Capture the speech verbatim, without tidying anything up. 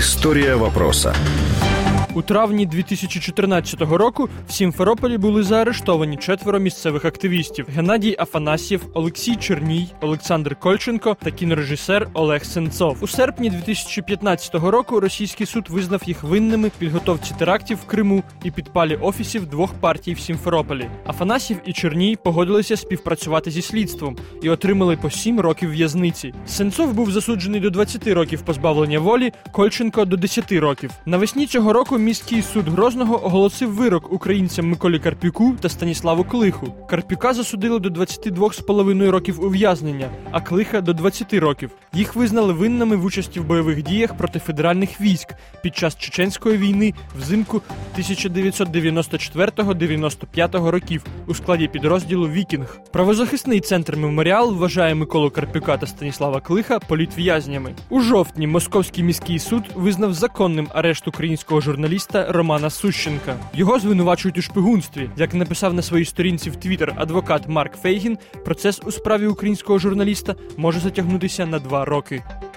Історія вопроса. У травні дві тисячі чотирнадцятого року в Сімферополі були заарештовані четверо місцевих активістів – Геннадій Афанасьєв, Олексій Черній, Олександр Кольченко та кінорежисер Олег Сенцов. У серпні дві тисячі п'ятнадцятого року російський суд визнав їх винними в підготовці терактів в Криму і підпалі офісів двох партій в Сімферополі. Афанасьєв і Черній погодилися співпрацювати зі слідством і отримали по сім років в'язниці. Сенцов був засуджений до двадцяти років позбавлення волі, Кольченко – до десяти років. Навесні цього року міський суд Грозного оголосив вирок українцям Миколі Карпюку та Станіславу Клиху. Карпюка засудили до двадцяти двох з половиною років ув'язнення, а Клиха – до двадцяти років. Їх визнали винними в участі в бойових діях проти федеральних військ під час Чеченської війни взимку тисяча дев'ятсот дев'яносто четвертого - дев'яносто п'ятого років у складі підрозділу «Вікінг». Правозахисний центр «Меморіал» вважає Миколу Карпюка та Станіслава Клиха політв'язнями. У жовтні Московський міський суд визнав законним арешт українського журналіста Романа Сущенка. Його звинувачують у шпигунстві. Як написав на своїй сторінці в Твіттер адвокат Марк Фейгін, процес у справі українського журналіста може затягнутися на два роки.